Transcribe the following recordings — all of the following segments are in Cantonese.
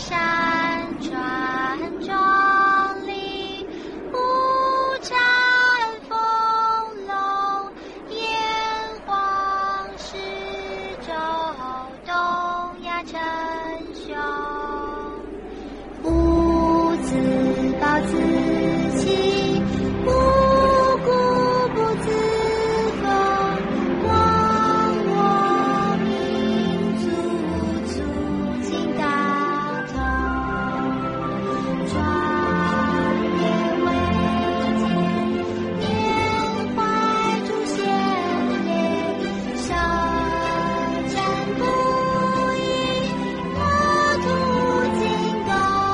山川壮丽，五展丰隆，炎黄始周，东亚称雄。吾自暴自弃，无故不自封。忘我民族，促进大同。壮烈伟健，缅怀祖先烈，舌战不已，国土精攻。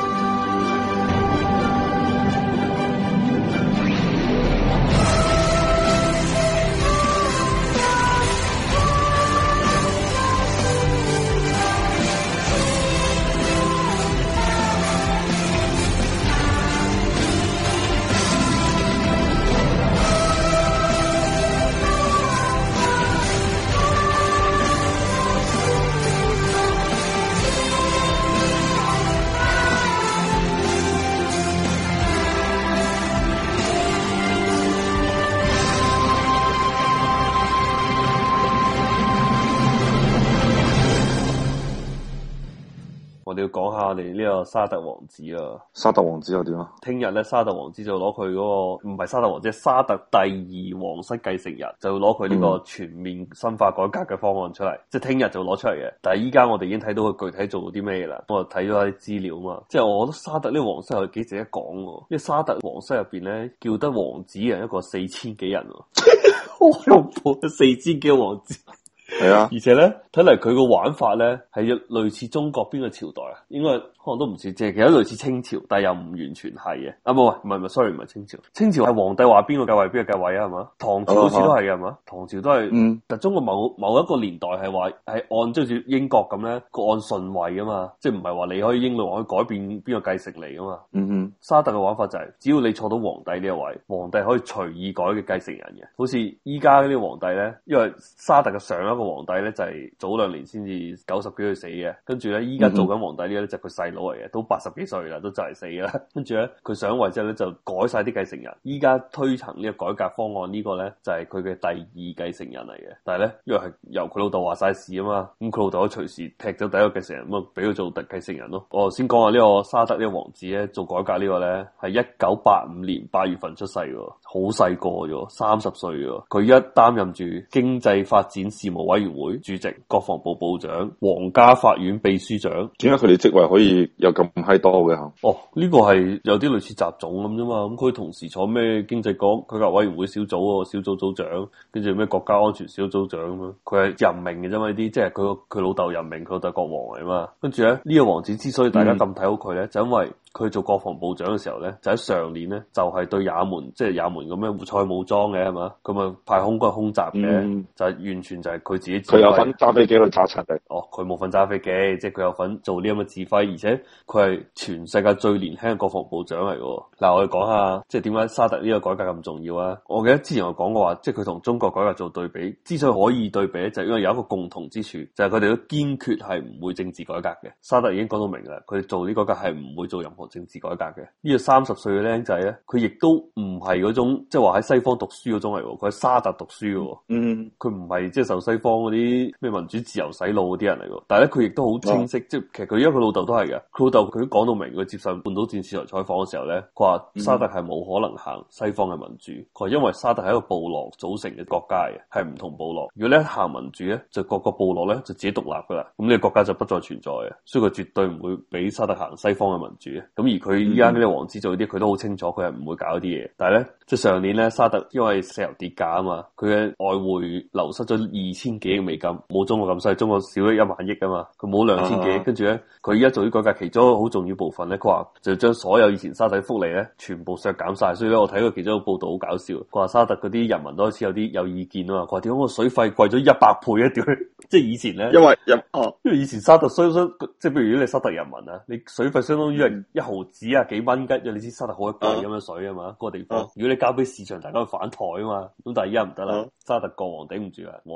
我哋要講下我哋呢個沙特王子啊。 沙特王子又點啊？ 聽日咧，沙特王子就攞佢嗰個唔係沙特王子，係沙特第二皇室繼承人，就攞佢呢個全面深化改革嘅方案出嚟，即係聽日就攞出嚟嘅。但係依家我哋已經睇到佢具體做到啲咩啦。我睇咗啲資料啊嘛，即係我覺得沙特呢個皇室係幾值得講嘅，因為沙特皇室入邊咧叫得王子嘅人一個4000幾人，好恐怖，4000幾個王子。 係啊， 而且咧睇嚟佢個玩法咧係類似中國邊個朝代啊？應該可能都唔似，即係其實類似清朝，但係又唔完全係嘅。啊，唔係，sorry，唔係清朝。清朝係皇帝話邊個繼位邊個繼位啊？係嘛？唐朝好似都係嘅，係嘛？唐朝都係，但中國某一個年代係話係按照住英國咁咧，個按順位啊嘛，即係唔係話你可以英女王可以改變邊個繼承嚟噶嘛？沙特嘅玩法就係，只要你坐到皇帝呢個位，皇帝可以隨意改嘅繼承人嘅。好似依家呢啲皇帝咧，因為沙特嘅上一個皇帝咧就係早2年先至90幾歲死嘅，跟住咧依家做緊皇帝呢咧就佢細佬嚟嘅，都80幾歲啦，都就嚟死啦。跟住咧佢上位之後咧就改晒啲繼承人，依家推行呢個改革方案呢個咧就係佢嘅第2繼承人嚟嘅。但係咧因為係由佢老豆話晒事啊嘛，咁佢老豆可以隨時踢咗第一個繼承人，咁啊俾佢做第繼承人咯。我頭先講下呢個沙特呢個王子咧做改革呢個咧係1985年8月份出世嘅，好細個啫，30歲嘅。佢一擔任住經濟發展事務委員會主席、國防部部長、皇家法院秘書長。 點解佢哋職位可以有咁閪多嘅？ 哦，呢個係有啲類似雜種咁啫嘛。咁佢同時坐咩經濟改革委員會小組小組組長，跟住咩國家安全小組長咁樣。佢係任命嘅啫嘛，呢啲即係佢老豆任命，佢老豆國王嚟嘛。跟住咧呢個王子之所以大家咁睇好佢咧，就因為佢做國防部長嘅時候咧，就喺上年咧就係對也門，即係也門咁樣胡塞武裝嘅係嘛，咁啊派空軍空襲嘅，就係完全就係佢自己。 佢有份揸飛機去炸柒嘅。 哦，佢冇份揸飛機，即係佢有份做呢咁嘅指揮，而且佢係全世界最年輕嘅國防部長嚟嘅。嗱，我哋講下即係點解沙特呢個改革咁重要啊？我記得之前我講過話，即係佢同中國改革做對比，之所以可以對比咧，就係因為有一個共同之處，就係佢哋都堅決係唔會政治改革嘅。沙特已經講到明啦，佢哋做呢個改革係唔會做任何政治改革嘅。呢個30歲嘅僆仔咧，佢亦都唔係嗰種即係話喺西方讀書嗰種嚟，佢喺沙特讀書嘅。佢唔係即係受西方嗰啲咩民主自由洗腦嗰啲人嚟嘅。但係咧，佢亦都好清晰，即係其實佢因為佢老豆都係嘅，佢老豆佢都講到明，佢接受半島電視台採訪嘅時候咧，佢話沙特係冇可能行西方嘅民主，佢話因為沙特係一個部落組成嘅國家嘅，係唔同部落。如果你一行民主咧，就各個部落咧就自己獨立噶啦，咁呢個國家就不再存在嘅，所以佢絕對唔會俾沙特行西方嘅民主嘅。咁而佢依家呢個王子做啲，佢都好清楚，佢係唔會搞啲嘢。但係咧，即係上年咧，沙特因為石油跌價啊嘛，佢嘅外匯流失咗2000幾億美金，冇中國咁犀利，中國少咗1萬億啊嘛，佢冇2000幾億。跟住咧，佢依家做啲改革，其中一個好重要部分咧，佢話就將所有以前沙特福利咧，全部削減晒。所以咧，我睇過其中一個報道好搞笑，佢話沙特嗰啲人民都開始有意見啊嘛，佢話點解個水費貴咗100倍啊？屌，即係以前咧，因為以前沙特即係譬如如果你沙特人民啊，你水費相當於係1毫子啊幾蚊雞，因為你知沙特好貴咁樣水啊嘛，嗰個地方。如果你交俾市場，大家會反台啊嘛。咁但係依家唔得啦，沙特國王頂唔住啊，皇室太多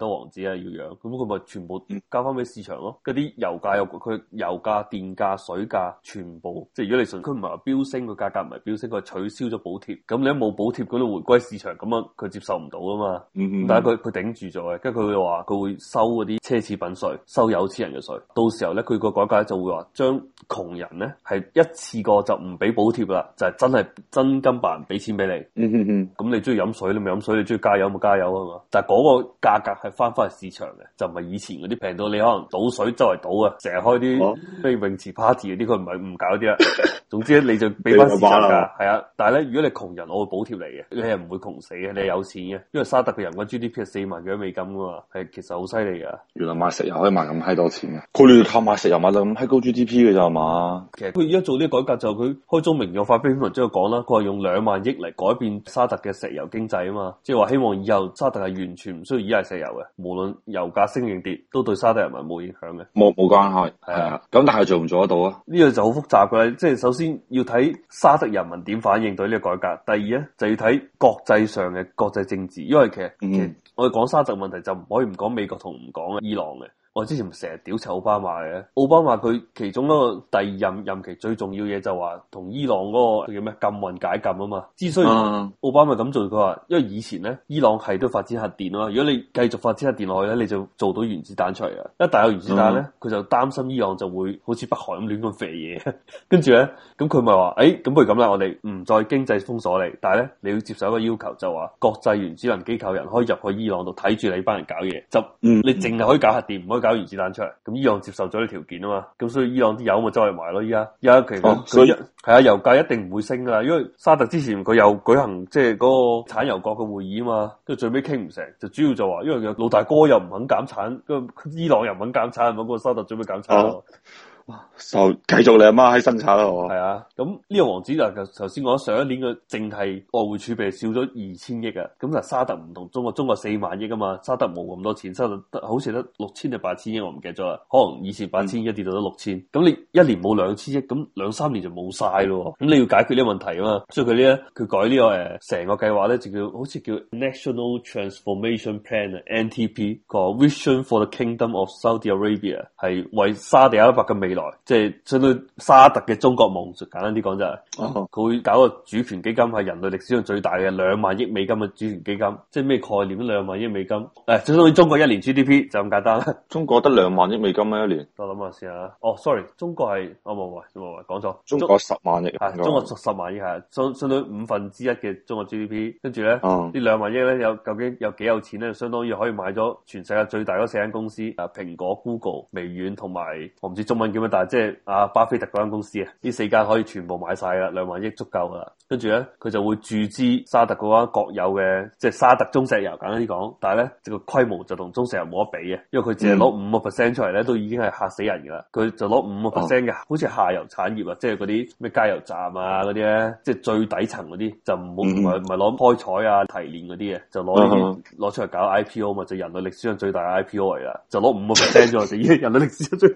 多王子啊要養，咁佢咪全部交翻俾市場咯。嗰啲油價佢油價、電價、水價全部，即係如果你純佢唔係話飆升，個價格唔係飆升，佢係取消咗補貼。咁你一冇補貼，嗰度回歸市場，咁啊佢接受唔到啊嘛。但係佢頂住咗嘅，跟住佢話佢會收嗰啲奢侈品稅，收有錢人嘅稅。到時候咧，佢個改革就會話將窮人咧係一次過就唔俾補貼啦，就係真係真金白銀俾錢俾你。咁你中意飲水你咪飲水，你中意加油咪加油啊嘛。但係嗰個價格係翻返去市場嘅，就唔係以前嗰啲平到你可能倒水周圍倒啊，成日開啲咩泳池 party 嗰啲，佢唔搞啲啊。總之你就俾翻市場價，係啊。但係咧，如果你窮人，我會補貼你嘅，你係唔會窮死嘅，你係有錢嘅。因為沙特嘅人均 GDP 係4萬幾美金噶嘛，係其實好犀利噶。 原來賣石油可以賣咁閪多錢嘅，佢哋靠賣石油賣到咁閪高 GDP 嘅咋嘛？ 其實佢而家做呢個改革就佢開宗明義發表篇文章講啦，佢話用2萬億嚟改變沙特嘅石油經濟啊嘛，即係話希望以後沙特係完全唔需要依賴石油嘅，無論油價升定跌，都對沙特人民冇影響嘅。 冇關係，係啊。咁但係做唔做得到啊？ 呢個就好複雜嘅，即係首先要睇沙特人民點反應對呢個改革，第二咧就要睇國際上嘅國際政治，因為其實我哋講沙特問題就唔可以唔講美國同唔講伊朗嘅。我之前成日屌柒奧巴馬嘅，奧巴馬佢其中一個第二任期最重要嘢就話同伊朗嗰個叫咩禁運解禁啊嘛。之所以奧巴馬咁做，佢話因為以前咧伊朗係都發展核電啊嘛，如果你繼續發展核電落去咧，你就做到原子彈出嚟啊。一旦有原子彈咧，佢就擔心伊朗就會好似北韓咁亂咁肥嘢，跟住咧咁佢咪話咁不如咁啦，我哋唔再經濟封鎖你，但係咧你要接受一個要求，就話國際原子能機構人可以入去伊朗度睇住你班人搞嘢，就你淨係可以搞核電，唔可以搞原子彈出嚟。咁伊朗接受咗呢條件啊嘛，咁所以伊朗啲油咪周圍賣咯。依家其實佢係啊，油價一定唔會升噶啦，因為沙特之前佢又舉行即係嗰個產油國嘅會議啊嘛，跟住最尾傾唔成，就主要就話因為老大哥又唔肯減產，伊朗又唔肯減產，咁個沙特最尾減產咯。 就繼續你阿媽喺生產咯。 係啊，咁呢個王子就頭先講上一年嘅淨係外匯儲備少咗2000億啊，咁就沙特唔同中國4萬億啊嘛，沙特冇咁多錢，沙特好似得6000定8000億，我唔記得咗啦，可能以前8000億跌到得6000，咁你一年冇2000億，咁2-3年就冇晒咯，咁你要解決呢個問題啊嘛，所以佢改呢個成個計劃咧就好似叫 National Transformation Plan NTP 個 Vision for the Kingdom of Saudi Arabia， 係為沙地阿拉伯嘅未來，即係相當於沙特嘅中國夢，簡單啲講就係，佢會搞個主權基金，係人類歷史上最大嘅2萬億美金嘅主權基金，即係咩概念？2萬億美金，相當於中國1年 GDP 就咁簡單啦。 中國得2萬億美金咩一年？ 我諗下先啊。sorry， 中國係冇講錯， 中國10萬億， 中國10萬億係相當於1/5嘅中國 GDP， 跟住咧呢2萬億咧究竟有幾有錢咧？相當於可以買咗全世界最大嗰4間公司，蘋果、Google、微軟同埋我唔知中文叫咩，但係即係巴菲特嗰間公司啊，呢4間可以全部買晒啦，2萬億足夠噶啦。跟住咧佢就會注資沙特嗰間國有嘅即係沙特中石油，簡單啲講，但係咧個規模就同中石油冇得比嘅，因為佢淨係攞5% 出嚟咧，都已經係嚇死人噶啦。佢就攞5% 嘅，好似下游產業啊，即係嗰啲咩加油站啊嗰啲咧，即係最底層嗰啲，就唔係攞開採啊提煉嗰啲嘅，就攞出嚟搞 IPO 嘛，就人類歷史上最大嘅 IPO 嚟啦，就攞5% 咗，就已經人類歷史上最。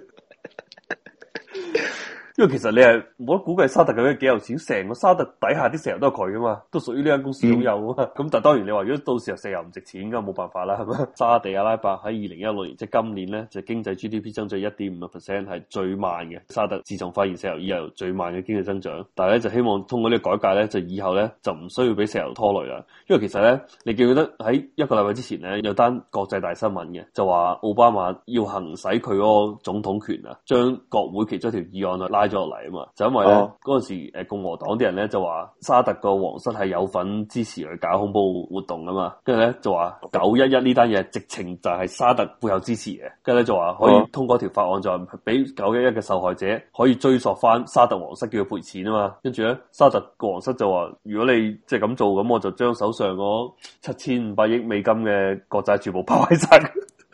因為其實你係冇得估計沙特究竟幾有錢，成個沙特底下啲石油都係佢噶嘛，都屬於呢間公司擁有啊嘛。咁但係當然你話如果到時候石油唔值錢，咁冇辦法啦，係咪？沙地阿拉伯喺2016年即係今年咧，就經濟 GDP 增長1.5%，係最慢嘅。沙特自從發現石油以後最慢嘅經濟增長，但係咧就希望通過呢個改革咧，就以後咧就唔需要俾石油拖累啦。因為其實咧，你記唔記得喺1個禮拜之前咧有單國際大新聞嘅，就話奧巴馬要行使佢嗰個總統權啊，將國會其中一條議案拉咗落嚟啊嘛，就因為咧嗰陣時共和黨啲人咧就話沙特個皇室係有份支持去搞恐怖活動啊嘛，跟住咧就話911呢單嘢直情就係沙特背後支持嘅，跟住咧就話可以通過條法案就係俾911嘅受害者可以追溯翻沙特皇室叫佢賠錢啊嘛，跟住咧沙特個皇室就話如果你即係咁做，咁我就將手上嗰7500億美金嘅國債全部拋喺晒。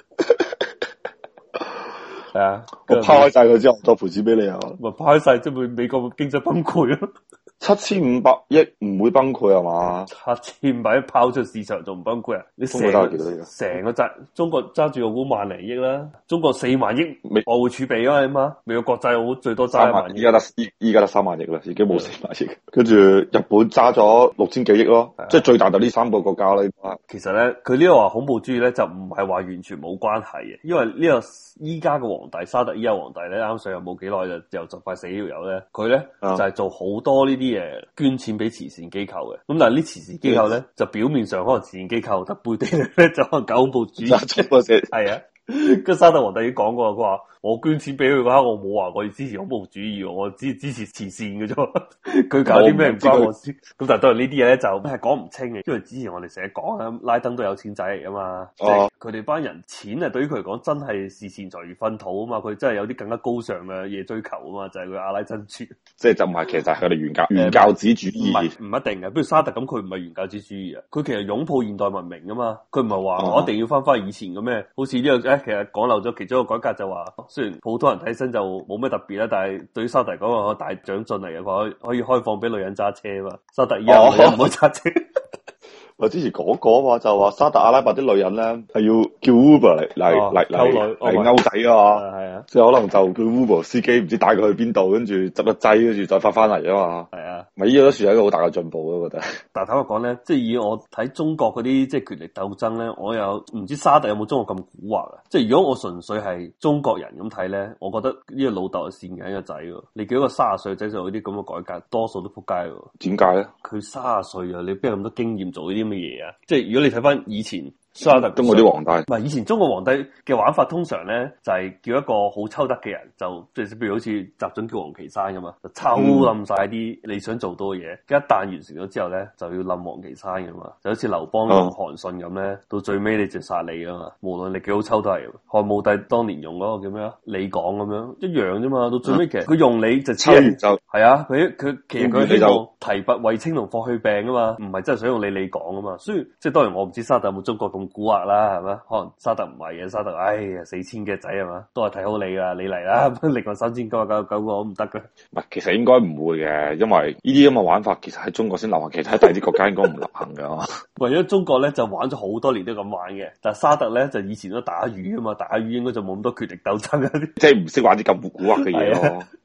係啊， 我拋開晒佢之後，再賠錢俾你啊！ 咪拋開晒，即係美國經濟崩潰咯。 7500億唔會崩潰係嘛 ？7500億拋出市場仲唔崩潰啊？你成個中國揸住個股萬零億啦，中國4萬億外匯儲備啊嘛，美國國債好最多揸1萬億， 依家得3萬億啦，已經冇4萬億。跟住日本揸咗6000幾億咯，即係最大就呢3個國家啦。 其實咧，佢呢個話恐怖主義咧就唔係話完全冇關係嘅，因為呢個依家嘅皇帝沙特依家皇帝咧啱上任冇幾耐就快死條友咧，佢咧就係做好多呢啲嘢捐錢俾慈善機構嘅，咁但係呢慈善機構咧就表面上可能慈善機構，但背地裏咧就可能搞恐怖主義。係啊。跟沙特皇帝已經講過，佢話我捐錢俾佢嘅話，我冇話我要支持恐怖主義，我只支持慈善嘅啫。佢搞啲咩唔關我事。咁但係當然呢啲嘢咧就係講唔清嘅，因為之前我哋成日講啊，拉登都有錢仔嚟噶嘛，即係佢哋班人錢啊，對於佢嚟講真係視錢財如糞土啊嘛，佢真係有啲更加高尚嘅嘢追求啊嘛，就係佢阿拉珍珠。即係就唔係，其實係佢哋原教旨主義。 唔一定嘅，比如沙特咁，佢唔係原教旨主義啊，佢其實擁抱現代文明噶嘛，佢唔係話我一定要翻以前嘅咩，好似呢個其實講漏咗其中一個改革就話，雖然普通人睇身就冇咩特別啦，但係對於沙特嚟講個大長進嚟嘅，佢可以開放俾女人揸車嘛。沙特而家女人唔好揸車。 我之前講過話就話沙特阿拉伯啲女人咧係要叫 Uber 嚟勾仔啊嘛，係啊，即係可能就叫 Uber 司機唔知帶佢去邊度，跟住執一劑，跟住再翻嚟啊嘛，係啊，咪呢個都算係一個好大嘅進步咯，我覺得。 但係坦白講咧，即係以我睇中國嗰啲即係權力鬥爭咧，我又唔知沙特有冇中國咁蠱惑啊！即係如果我純粹係中國人咁睇咧，我覺得呢個老豆係善緊個仔喎，你叫一個30歲仔做呢啲咁嘅改革，多數都仆街喎。 點解咧？佢 30歲啊，你邊有咁多經驗做呢啲咁嘅嘢啊？即係如果你睇翻以前沙特中國啲皇帝， 唔係以前中國皇帝嘅玩法，通常咧就係叫一個好抽得嘅人，就即係譬如好似習準叫王岐山噶嘛，就抽冧晒啲你想做到嘅嘢。一旦完成咗之後咧，就要冧王岐山噶嘛，就好似劉邦用韓信咁咧，到最尾你就殺你噶嘛。無論你幾好抽都係。漢武帝當年用嗰個叫咩啊？李廣咁樣一樣啫嘛。到最尾其實佢用你就抽完就係啊，佢其實佢希望提拔衛青同霍去病啊嘛，唔係真係想用你李廣啊嘛。所以即係當然我唔知沙特有冇中國咁蠱惑啦，係嘛？可能沙特唔係嘅，沙特哎呀4000嘅仔係嘛，都係睇好你噶，你嚟啦，另外3999個我唔得嘅。 唔係，其實應該唔會嘅，因為呢啲咁嘅玩法其實喺中國先流行，其實喺第二啲國家應該唔流行嘅。 為咗中國咧就玩咗好多年都咁玩嘅，但係沙特咧就以前都打魚啊嘛，打魚應該就冇咁多權力鬥爭嗰啲， 即係唔識玩啲咁蠱惑嘅嘢咯。